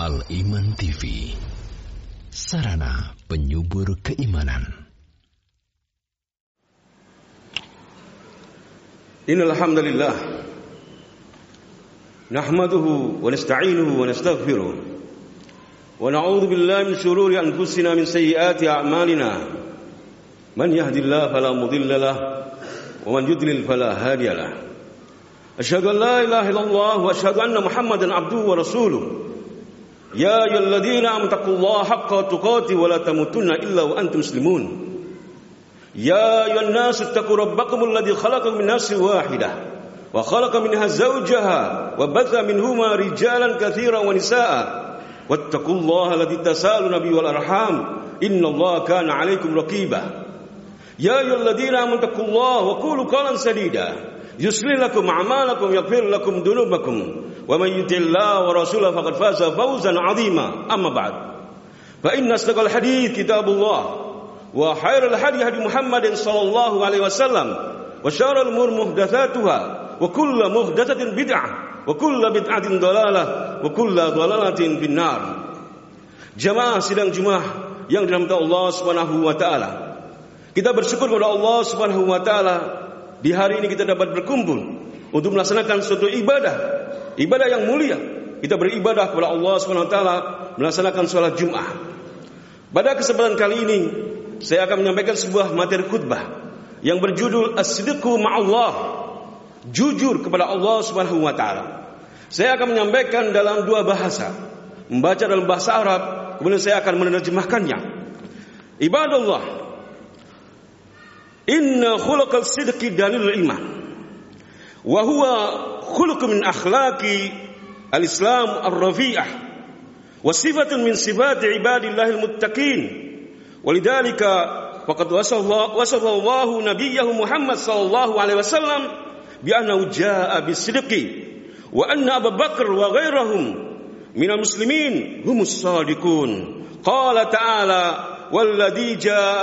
Al-Iman TV, sarana penyubur keimanan. Innal hamdalillah nahmaduhu wa nasta'inuhu wa nastaghfiruh wa na'udzu billahi min shururi anfusina min sayyiati a'malina. Man yahdihillahu fala mudilla lahu wa man yudlil fala hadiya lahu. Asyhadu an la ilaha illallah wa asyhadu anna Muhammadan abduhu wa rasuluh. Ya ayyuhalladzina amanu taqullaha haqqa tuqatih wa la tamutunna illa wa antum muslimun. Ya ayyuhan nasu ittaqu rabbakumul ladzi khalaqakum min nafsin wahidah wa khalaqa minha zawjaha wa batha minhuma rijalan katsiran wa nisaa'a wattaqullaha alladzi tasaaluna bihi wal arham innallaha kana 'alaikum raqiba. Ya ayyuhalladzina amanu taqullaha wa qulu qawlan sadida yuslih lakum a'malakum yaghfir lakum dhunubakum wa may yuti'illaha wa rasulahu faqad faza fawzan 'azima. Amma ba'd. Fa inna asdaqal hadits kitabullah wa khairal hadi hadi Muhammadin sallallahu alaihi wasallam wa syarrul umur muhdatsatuha wa kullu muhdatsatin bid'ah wa kullu bid'atin dhalalah wa kullu dhalalatin finnar. Jamaah sidang Jumat yang dirahmati Allah Subhanahu wa taala. Kita bersyukur kepada Allah Subhanahu wa taala di hari ini kita dapat berkumpul untuk melaksanakan suatu ibadah yang mulia. Kita beribadah kepada Allah Subhanahu wa taala melaksanakan salat Jumat. Pada kesempatan kali ini saya akan menyampaikan sebuah materi khutbah yang berjudul As-Sidqu Ma'allah, jujur kepada Allah Subhanahu wa taala. Saya akan menyampaikan dalam dua bahasa, membaca dalam bahasa Arab, kemudian saya akan menerjemahkannya. Ibadallah, inna khuluqal sidqi dalilul iman wa huwa khuluqun min akhlaqi al-islam ar-rafi'ah wa sifatun min sifati ibadillahil muttaqin. Walidhalika faqad wasallallahu nabiyyahu Muhammad sallallahu alaihi wasallam bi annahu jaa'a bis-sidqi wa anna Abu Bakar wa ghairahum minal muslimin humus shadiqun. Qala ta'ala walladzi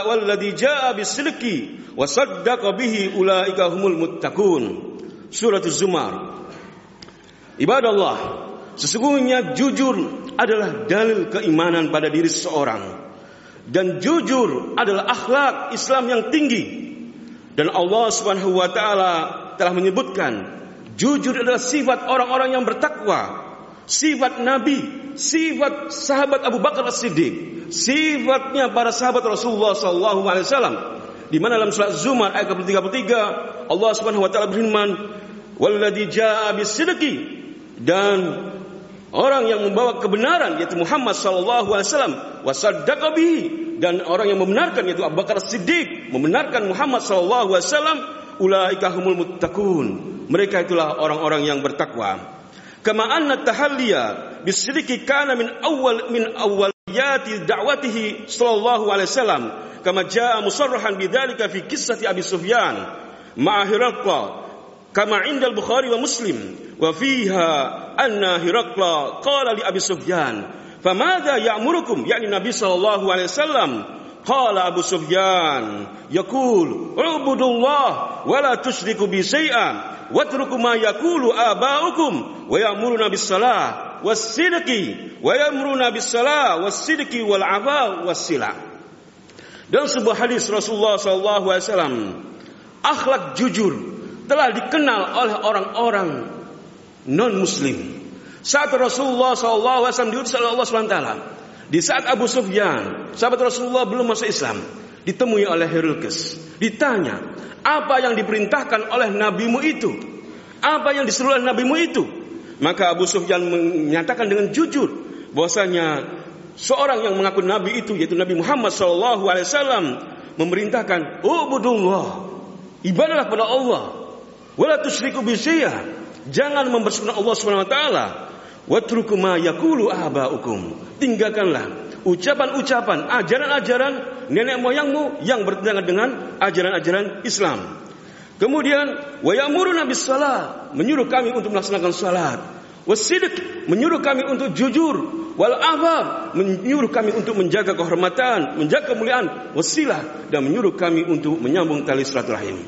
jaa'a bis-sidqi wa saddaqa bihi ulaika humul muttaqun. Surat Az-Zumar. Ibadallah, sesungguhnya jujur adalah dalil keimanan pada diri seseorang. Dan jujur adalah akhlak Islam yang tinggi. Dan Allah Subhanahu wa taala telah menyebutkan jujur adalah sifat orang-orang yang bertakwa, sifat Nabi, sifat sahabat Abu Bakar As-Siddiq, sifatnya para sahabat Rasulullah sallallahu alaihi wasallam. Di mana dalam surat Zumar ayat 33 Allah Subhanahu wa taala berfirman, "Walladzi jaa'a bis-sidqi," dan orang yang membawa kebenaran yaitu Muhammad sallallahu alaihi wasallam, wa saddaqa bihi, dan orang yang membenarkan yaitu Abu Bakar As-Siddiq membenarkan Muhammad sallallahu alaihi wasallam, ulaika humul muttaqun, mereka itulah orang-orang yang bertakwa. Kama anna tahalliya bis-sidqi kana min awwaliyati da'watihi sallallahu alaihi wasallam, kama jaa musarrahan bidzalika fi qissati Abi Sufyan ma'a Hiraqla kama 'inda al-Bukhari wa Muslim wa fiha anna Hiraqla qala li Abi Sufyan famadha ya'murukum, yani Nabi sallallahu alaihi wasallam. Qala Abu Sufyan yaqul ubudullah wa la tusyriku bi syai'an watruku ma yaqulu aba'ukum wa ya'muruna bis salah was sidqi wa ya'muruna bis salah was sidqi wal 'afa was sila. Dalam sebuah hadis Rasulullah sallallahu alaihi wasallam, akhlak jujur telah dikenal oleh orang-orang non-muslim. Saat Rasulullah sallallahu alaihi wasallam diutus oleh Allah Subhanahu wa taala, di saat Abu Sufyan, sahabat Rasulullah belum masuk Islam, ditemui oleh Herakles, ditanya, "Apa yang diperintahkan oleh nabimu itu? Apa yang disuruh oleh nabimu itu?" Maka Abu Sufyan menyatakan dengan jujur bahwasanya seorang yang mengaku nabi itu yaitu Nabi Muhammad sallallahu alaihi wasallam memerintahkan ubudullah, ibadahlah kepada Allah, wala tusyriku bi syai'a, jangan mempersekutukan Allah Subhanahu wa taala, watruku ma yaqulu aba'ukum, tinggalkanlah ucapan-ucapan, ajaran-ajaran nenek moyangmu yang bertentangan dengan ajaran-ajaran Islam. Kemudian wa ya'muruna bis shalah, menyuruh kami untuk melaksanakan salat, wasidq, menyuruh kami untuk jujur, wal afaf, menyuruh kami untuk menjaga kehormatan, menjaga kemuliaan, wasilah, dan menyuruh kami untuk menyambung tali silaturahim.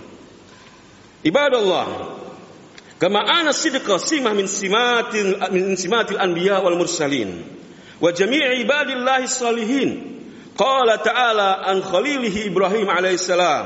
Ibadallah, kama ana sidqa simah min simatil anbiya wal mursalin. wa jami'i ibadillahi shalihin. Qala ta'ala an khalilihi Ibrahim alaihissalam.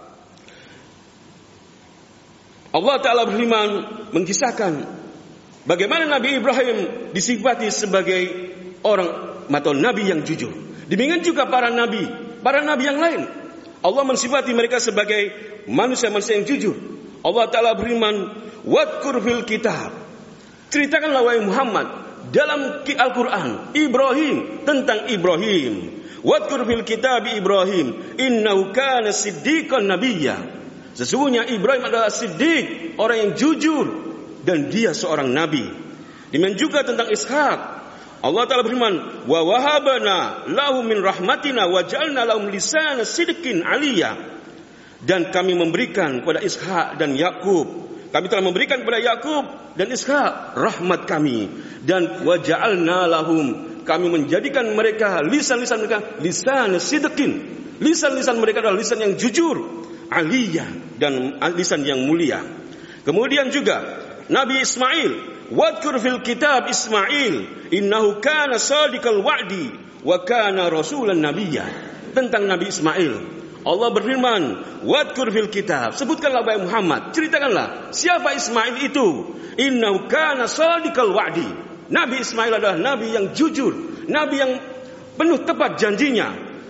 Allah Ta'ala berfirman mengisahkan bagaimana Nabi Ibrahim disifati sebagai orang atau nabi yang jujur. Demikian juga para nabi yang lain. Allah mensifati mereka sebagai manusia-manusia yang jujur. Allah Ta'ala berfirman, "Wadkur fil kitab." Ceritakanlah wahai Muhammad dalam Al-Qur'an Ibrahim, tentang Ibrahim. Wadkur fil kitab Ibrahim, innahu kana siddiqan nabiyya. Sesungguhnya Ibrahim adalah siddiq, orang yang jujur, dan dia seorang nabi. Demikian juga tentang Ishak. Allah Ta'ala berfirman, wa wahabana lahu min rahmatina wa ja'alna lahum lisana sidqin aliyya. Dan kami memberikan kepada Ishak dan Yakub. Kami telah memberikan kepada Yakub dan Ishak rahmat kami, dan wa ja'alna lahum, kami menjadikan mereka lisan-lisan mereka lisan sidqin. Lisan-lisan mereka adalah lisan yang jujur, aliyah, dan lisan yang mulia. Kemudian juga Nabi Ismail, wadkur fil kitab Ismail innahu kana sadiqal wa'di wa kana rasulan nabiyya. Tentang Nabi Ismail Allah berfirman, wadkur fil kitab, sebutkanlah wahai Muhammad, ceritakanlah siapa Ismail itu. Innahu kana sadiqal wa'di. Nabi Ismail adalah nabi yang jujur, nabi yang penuh tepat janjinya.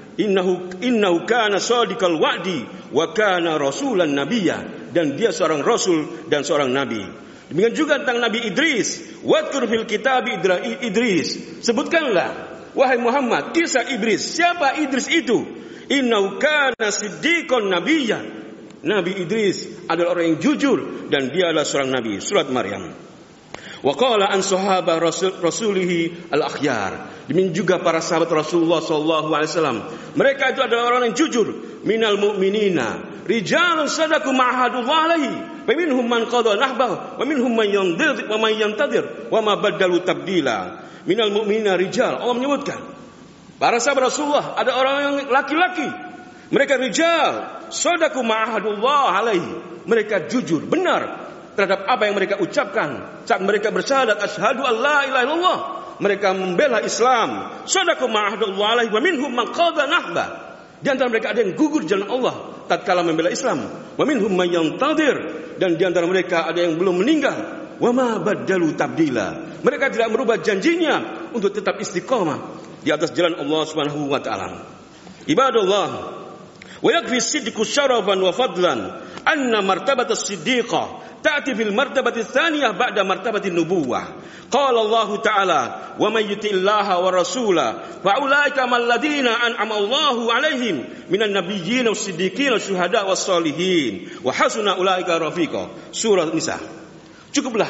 Innahu kana sadiqal wa'di wa kana rasulan nabiyya, dan dia seorang rasul dan seorang nabi. Demikian juga tentang Nabi Idris, wadkur fil kitab Idris, sebutkanlah wahai Muhammad kisah Idris. Siapa Idris itu? Innahu kana siddiqan nabiyya. Nabi Idris adalah orang yang jujur dan dia adalah seorang nabi. Surat Maryam. Wa qala an sahabah rasulihi al-akhyar. Demikian juga para sahabat Rasulullah sallallahu alaihi wasallam. Mereka itu adalah orang yang jujur. Minal mu'minina rijalun sadaqu ma'ahadullah alaihi. Wa minhum man qada nahbahu wa minhum man yantadir wa ma badalu tabdila. Minal mu'minina rijal. Allah menyebutkan para sahabat Rasulullah ada orang yang laki-laki. Mereka rijal sadaqu ma'ahadullah alaihi. Mereka jujur, benar terhadap apa yang mereka ucapkan saat mereka bersyahadat asyhadu an la ilaha illallah. Mereka membela Islam. Sadaqu ma'ahadullah alaihi wa minhum man qada nahba. Di antara mereka ada yang gugur jalan Allah tatkala membela Islam. Wa minhum man yantadir, dan di antara mereka ada yang belum meninggal. Wa ma badalu tabdila. Mereka tidak merubah janjinya untuk tetap istiqamah di atas jalan Allah Subhanahu wa taala. Ibadallah, wa yakfi sidqu syarafan wa fadlan anna martabat as-siddiqah ta'ti fil martabati tsaniyah ba'da martabati nubuwah. Qala Allah Ta'ala, wa may yuti'illaha wa rasulahu fa ulaika mal ladzina an'ama Allahu 'alaihim minan nabiyyin was-siddiqin wasyuhada was-shalihin wa hasuna ulaika rafiqa. Surah Nisa. Cukuplah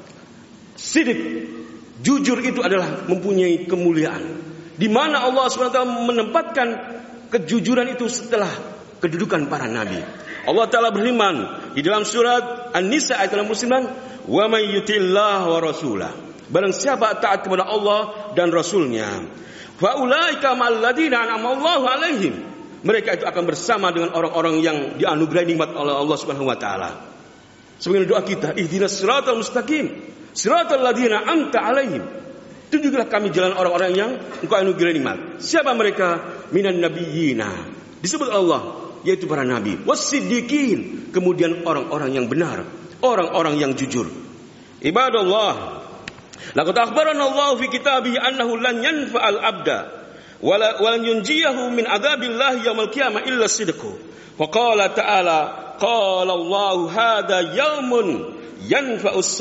sidik, jujur itu adalah mempunyai kemuliaan, di mana Allah SWT menempatkan kejujuran itu setelah kedudukan para nabi. Allah Ta'ala berfirman di dalam surat An-Nisa ayat 69, wa may yuti'illaha wa rasulahu, barang siapa taat kepada Allah dan Rasulnya, fa ulaika ma'al ladzina an'ama Allahu 'alaihim, mereka itu akan bersama dengan orang-orang yang dianugerahi nikmat oleh Allah Subhanahu wa taala. Sebagai doa kita, ihdinas siratal mustaqim, siratal ladzina an'amta 'alaihim. Tunjukilah kami jalan orang-orang yang Engkau anugerahi nikmat. Siapa mereka? Minan nabiyyina, disebut Allah, yaitu para nabi, was-siddiqin, kemudian orang-orang yang benar, orang-orang yang jujur. Ibadallah, laqad akhbarana Allah fi kitabihi annahu lan yanfa'al 'abda wa lan yunjiyahu min 'adzabillahi yaumil qiyamah illa sidqu. Wa qala ta'ala, qala Allah hadza yaumun yanfa'us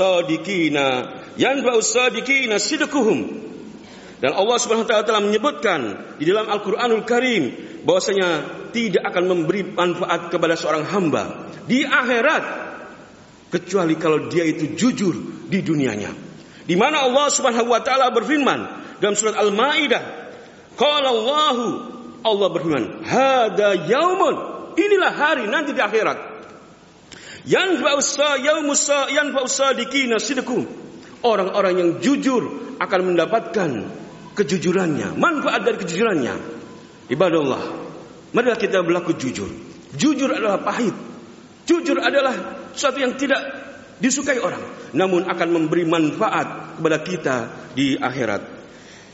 sadiqina sidquhum. Dan Allah Subhanahu wa taala telah menyebutkan di dalam Al-Qur'anul Karim bahwasanya tidak akan memberi manfaat kepada seorang hamba di akhirat kecuali kalau dia itu jujur di dunianya. Di mana Allah Subhanahu wa taala berfirman dalam surat Al-Maidah, qala Allah berfirman, hada yaumun, inilah hari nanti di akhirat, yanfa'us sadiqina sidqum, orang-orang yang jujur akan mendapatkan kejujurannya, manfaat dari kejujurannya. Ibadallah, marilah kita berlaku jujur. Jujur adalah pahit. Jujur adalah sesuatu yang tidak disukai orang, namun akan memberi manfaat kepada kita di akhirat.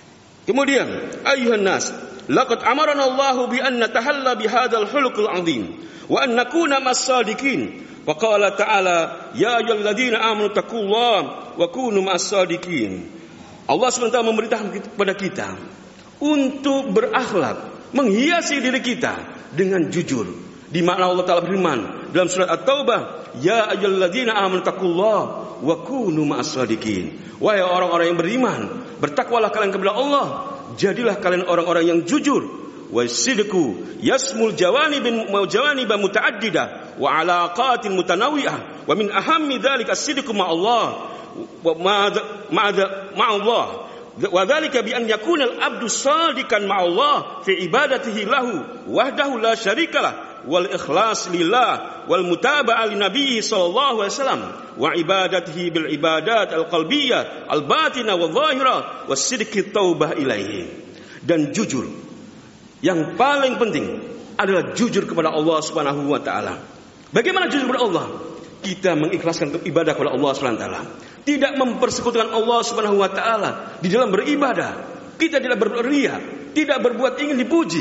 Kemudian, ayuhan nas, laqad amarana Allahu bi an natahalla bi hadzal khuluqil azim wa an nakuna mas-sadiqin. Wa qala ta'ala, ya ayyuhalladzina amanu taqullaha wa kunu mas-sadiqin. Allah SWT memerintahkan kepada kita untuk berakhlak, menghiasi diri kita dengan jujur. Di mana Allah Ta'ala berfirman dalam surat At-Taubah, ya ayyuhalladzina amanu taqullaha wa kunu mas-sadiqin. Wahai orang-orang yang beriman, bertakwalah kalian kepada Allah, jadilah kalian orang-orang yang jujur. Wasidqu yasmul jawanib muta'addida wa alaqatin mutanawwi'ah wa min ahammi dzalika as-sidqu ma'allah wa ma'allah wa dzalika bi an yakuna al-'abdu shadiqan ma'allah fi ibadatihi lahu wahdahu la syarikalah wal ikhlas lillah wal mutaba'ah li nabi sallallahu alaihi wasallam wa ibadatihi bil ibadat al qalbiyyah al batinah wal zahirah was sidqi taubah ilaihi. Dan jujur yang paling penting adalah jujur kepada Allah Subhanahu wa taala. Bagaimana jujur kepada Allah? Kita mengikhlaskan ibadah kepada Allah Subhanahu wa taala, tidak mempersekutukan Allah Subhanahu wa taala di dalam beribadah. Kita tidak berriya, tidak berbuat ingin dipuji,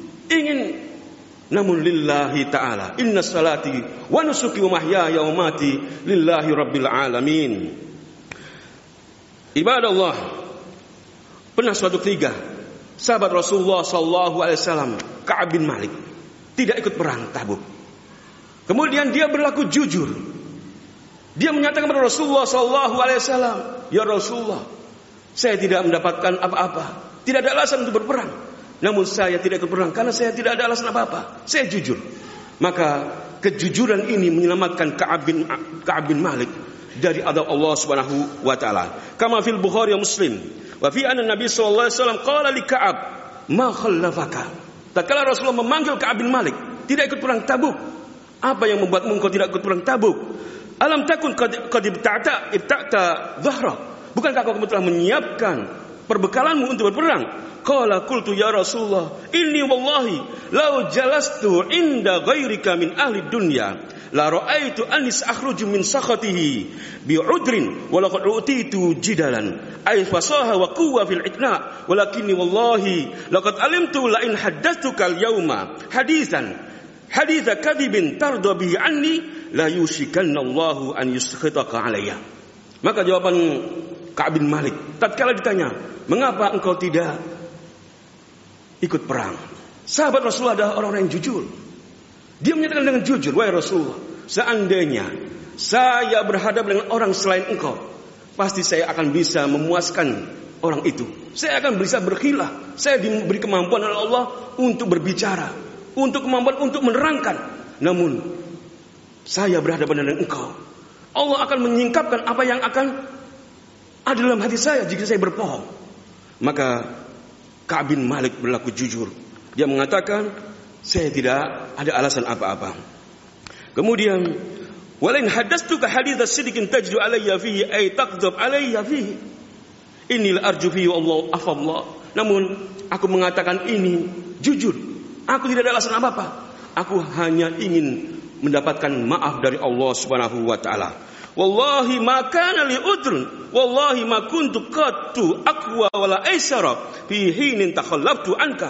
namun lillahi ta'ala. Inna salati wa nusuki wa mahyaya wa mati lillahi rabbil alamin. Ibadah Allah. Pernah suatu ketika sahabat Rasulullah sallallahu alaihi wasallam, Ka'ab bin Malik, tidak ikut perang Tabuk. Kemudian dia berlaku jujur. Dia menyatakan kepada Rasulullah sallallahu alaihi wasallam, ya Rasulullah, saya tidak mendapatkan apa-apa, tidak ada alasan untuk berperang. Namun saya tidak ikut perang karena saya tidak ada alasan apa-apa. Saya jujur. Maka kejujuran ini menyelamatkan Ka'ab bin Malik dari adab Allah Subhanahu wa taala. Kama fil Bukhari wa Muslim, wa fi anna Nabi sallallahu alaihi wasallam qala li Ka'ab, "Ma khallafaka?" Tatkala Rasulullah memanggil Ka'ab bin Malik, tidak ikut perang Tabuk. Apa yang membuatmu engkau tidak ikut perang Tabuk? Alam takun qad ibta'ta dhahra? Bukankah kau telah menyiapkan perbekalanmu untuk berperang? Qala qultu ya Rasulullah, inni wallahi law jalastu inda ghairika min ahli dunya la ra'aitu anis akhruju min sakhatihi bi'udrin wa laqad utitu jidalan ay fasaha wa quwwa fil itna walakinni wallahi laqad alimtu la in haddathuka al-yawma haditha kadhibin tarda bihi anni la yushikanna Allahu an yuskhitaka alayya. Maka jawaban Ka'ab bin Malik tatkala ditanya, mengapa engkau tidak ikut perang? Sahabat Rasulullah adalah orang-orang yang jujur. Dia menyatakan dengan jujur, wahai Rasulullah, seandainya saya berhadapan dengan orang selain engkau, pasti saya akan bisa memuaskan orang itu. Saya akan bisa berkhilaf. Saya diberi kemampuan oleh Allah untuk berbicara, untuk kemampuan untuk menerangkan. Namun saya berhadapan dengan engkau, Allah akan menyingkapkan apa yang akan ada dalam hati saya jika saya berbohong. Maka Ka'ab bin Malik berlaku jujur. Dia mengatakan, saya tidak ada alasan apa-apa. Kemudian, walain hadastuka haditsa sidqin tajdu alayya fihi ay taqdhab alayya fihi. Innil arju fihi Allah afallah. Namun aku mengatakan ini jujur. Aku tidak ada alasan apa-apa. Aku hanya ingin mendapatkan maaf dari Allah Subhanahu wa taala. Wallahi ma kana li udrun, wallahi ma kuntu qattu aqwa wala aisara fi hinin takhallaftu anka.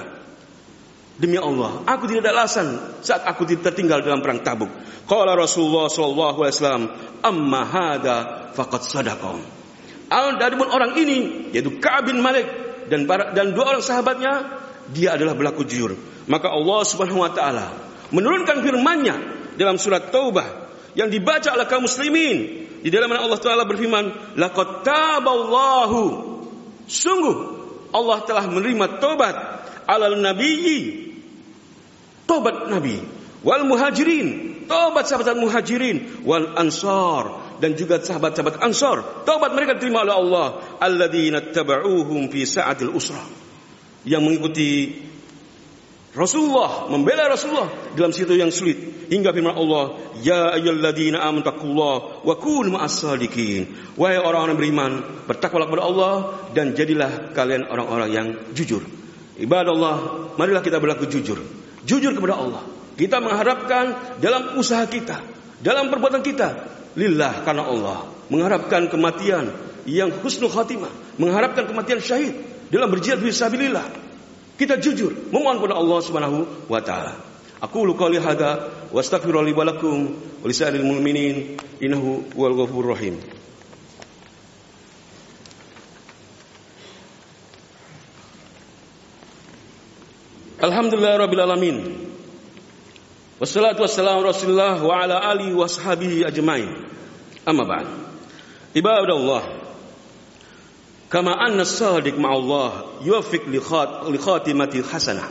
Demi Allah, aku tidak ada alasan saat aku tertinggal dalam perang Tabuk. Qala Rasulullah sallallahu alaihi wasallam, amma hada faqad sadaqa. Adapun orang ini yaitu Ka'ab bin Malik dan dua orang sahabatnya, dia adalah berlaku jujur. Maka Allah Subhanahu wa taala menurunkan firman-Nya dalam surat Taubah yang dibaca oleh kaum muslimin, di dalam mana Allah Taala berfirman, laqad taballahu, sungguh Allah telah menerima tobat alal nabiyyi, tobat nabi, wal muhajirin, tobat sahabat muhajirin, wal ansar, dan juga sahabat-sahabat ansar, tobat mereka diterima oleh Allah, alladzina tabauhum fi sa'atil usra, yang mengikuti Rasulullah, membela Rasulullah dalam situasi yang sulit, hingga firman Allah, ya ayyuhalladzina amanu taqullaha wa kunu ma'as-shadiqin. Wahai orang-orang beriman, bertakwalah kepada Allah dan jadilah kalian orang-orang yang jujur. Ibadah Allah, marilah kita berlaku jujur. Jujur kepada Allah. Kita mengharapkan dalam usaha kita, dalam perbuatan kita, lillah, karena Allah. mengharapkan kematian yang husnul khatimah, mengharapkan kematian syahid dalam berjihad fisabilillah. Kita jujur memohon kepada Allah Subhanahu wa taala. Aqulu qouli hadza wa astaghfirullahi wa lakum wa lisa'iril mu'minin innahu huwal ghafurur rahim. Alhamdulillahirabbil alamin. Wassalatu wassalamu Rasulillah wa ala alihi wa sahbihi ajmain. Amma ba'd. Ibadallah. Kama anna as-sadiq ma'allah yuwaffiq li khatimati hasanah.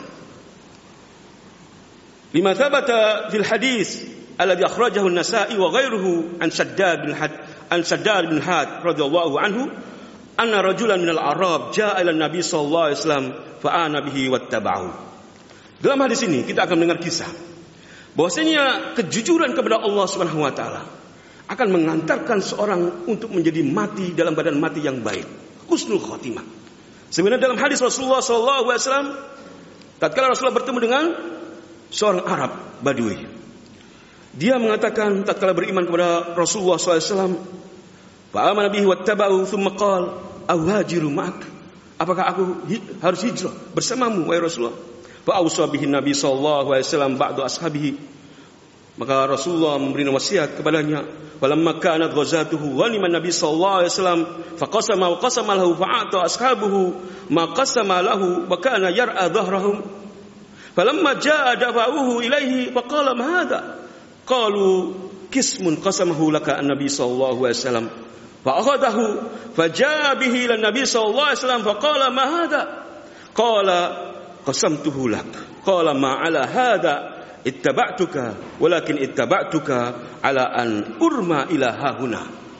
Lima thabata fil hadis alladhi akhrajahu an-Nasa'i wa ghayruhu an Shaddad bin Had radhiyallahu anhu anna rajulan minal Arab jaa'a ila an-nabi sallallahu alaihi wasallam fa'ana bihi wattaba'u. Dalam hadis ini kita akan mendengar kisah bahwasanya kejujuran kepada Allah Subhanahu wa taala akan mengantarkan seorang untuk menjadi mati dalam badan mati yang baik, husnul khatimah. Sebenarnya dalam hadis Rasulullah sallallahu alaihi wasallam, tatkala Rasulullah bertemu dengan seorang Arab Badui, dia mengatakan tatkala beriman kepada Rasulullah sallallahu alaihi wasallam, fa amana bihi wattaba'u thumma qala awajiru ma'ak, apakah aku harus hijrah bersamamu wahai Rasulullah? Fa awsa bihi Nabi sallallahu alaihi wasallam ba'du ashabihi, maka Rasulullah memberi wasiat kepadanya. Falamma kanat ghazatuhu ghanima Nabi sallallahu alaihi wasallam faqasama wa qasama lahu fa'ata ashabuhu ma qasama lahu wa kana yar'a dhahrahum. Falamma jaa dafa'uhu ilaihi faqala ma hadha? Qalu qismun qasamahu laka an-nabi sallallahu alaihi wasallam. Fa akhadahu fajaa bihi ila Nabi sallallahu alaihi wasallam faqala ma hadha? Qala qasamtuhu lak. Qala ma ala hadha ittaba'tuka walakin ittaba'tuka ala an urma ila hahuna.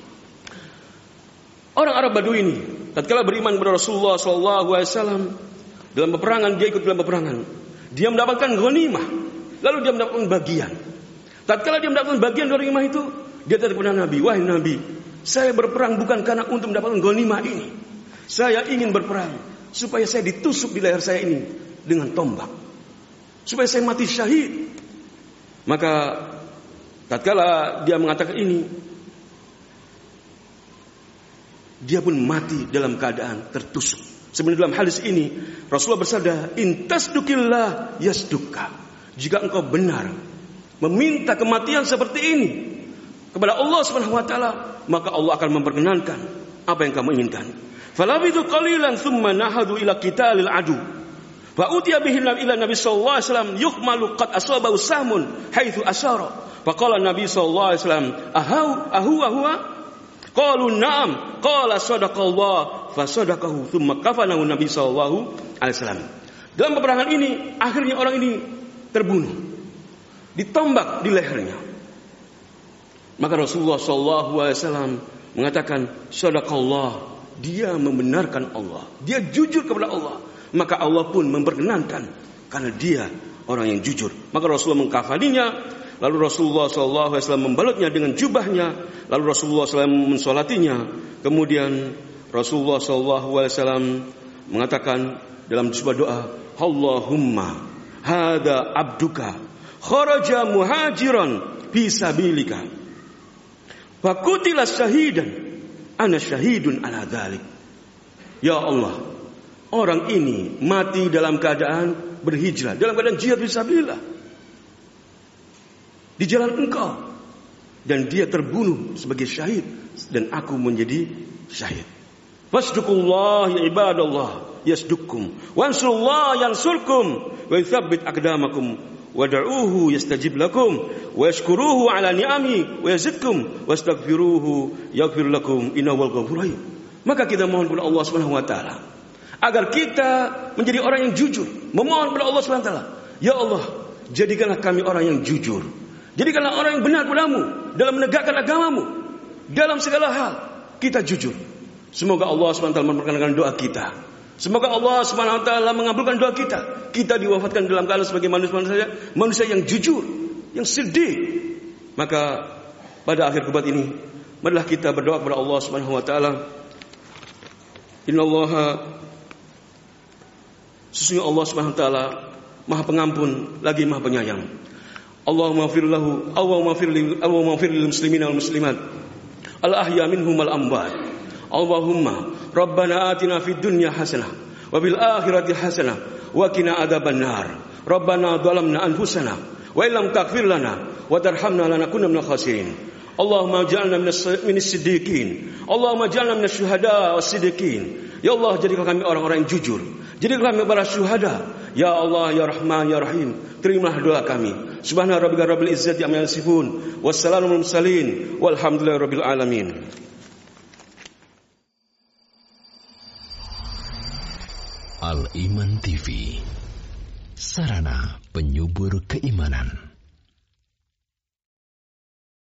Orang Arab Badui ini tatkala beriman kepada Rasulullah sallallahu alaihi wasallam, dalam peperangan dia ikut dalam peperangan, dia mendapatkan ghanimah, lalu dia mendapatkan bagian. Tatkala dia mendapatkan bagian dari ghanimah itu, dia tanya kepada Nabi, wahai Nabi, saya berperang bukan karena untuk mendapatkan ghanimah ini. Saya ingin berperang supaya saya ditusuk di leher saya ini dengan tombak, supaya saya mati syahid. Maka tatkala dia mengatakan ini, dia pun mati dalam keadaan tertusuk. Sebenarnya dalam hadis ini Rasulullah bersabda, intasdukillah yasdukka. Jika engkau benar meminta kematian seperti ini kepada Allah Subhanahu wa taala, maka Allah akan memperkenankan apa yang kamu inginkan. Falabidu qalilan thumma nahadu ila qitalil adu. Fa utiya bihi ila Nabi sallallahu alaihi wasallam yuhmalu qad asabahu sahmun haitsu asyara. Fa qala Nabi sallallahu alaihi wasallam, ahu. Qalu na'am. Qala sadaqallah fa sadaqahu thumma kafanahu Nabi sallallahu alaihi wasallam. Dalam peperangan ini akhirnya orang ini terbunuh, ditombak di lehernya. Maka Rasulullah sallallahu alaihi wasallam mengatakan sadaqallah, dia membenarkan Allah, dia jujur kepada Allah, maka Allah pun memperkenankan karena dia orang yang jujur. Maka Rasulullah mengkafaninya, lalu Rasulullah sallallahu alaihi wasallam membalutnya dengan jubahnya, lalu Rasulullah SAW mensolatinya. Kemudian Rasulullah sallallahu alaihi wasallam mengatakan dalam sebuah doa, Allahumma hada abduka kharaja muhajiran fi sabilika fakutila syahidan ana syahidun ala dzalik. Ya Allah, orang ini mati dalam keadaan berhijrah, dalam keadaan jihad fisabilillah di jalan Engkau, dan dia terbunuh sebagai syahid dan aku menjadi syahid. Fasduqullah ya ibadallah yasdukkum wansurullah yansurkum wa yuthabbit aqdamakum wad'uuhu yastajib lakum wa yashkuruhu ala ni'ami wa yazidkum wastaghfiruhu yaghfir lakum innahu ghafurur rahim. Maka kita mohon kepada Allah Subhanahu wa taala agar kita menjadi orang yang jujur, memohon kepada Allah Subhanahu wa taala, ya Allah, jadikanlah kami orang yang jujur, jadikanlah orang yang benar padamu dalam menegakkan agamamu, dalam segala hal kita jujur. Semoga Allah Subhanahu wa taala memperkenankan doa kita. Semoga Allah Subhanahu wa taala mengabulkan doa kita. Kita diwafatkan dalam keadaan sebagai manusia yang jujur, yang sedih. Maka pada akhir khutbah ini, marilah kita berdoa kepada Allah Subhanahu wa taala. Innallaha, sesungguhnya Allah Subhanahu wa taala Maha Pengampun lagi Maha Penyayang. Allahumma ighfir lahu, Allahumma ighfir lil muslimin wal muslimat, al-ahya minhum al-amwat. Allahumma rabbana atina fid dunya hasanah wa bil akhirati hasanah wa qina adzabannar. Rabbana dhalamna anfusana wa illam taghfir lana wa tarhamna lanakunanna minal khasirin. Allahumma ij'alna minas siddiqin. Allahumma ij'alna minasy syuhada was-siddiqin. Ya Allah, jadikan kami orang-orang yang jujur. Jadikan kami para syuhada. Ya Allah, ya Rahman, ya Rahim, terimalah doa kami. Subhana rabbika rabbil izzati amma yasifun. Wassalamu alal mursalin. Walhamdulillahi rabbil alamin. Al Iman TV, sarana penyubur keimanan.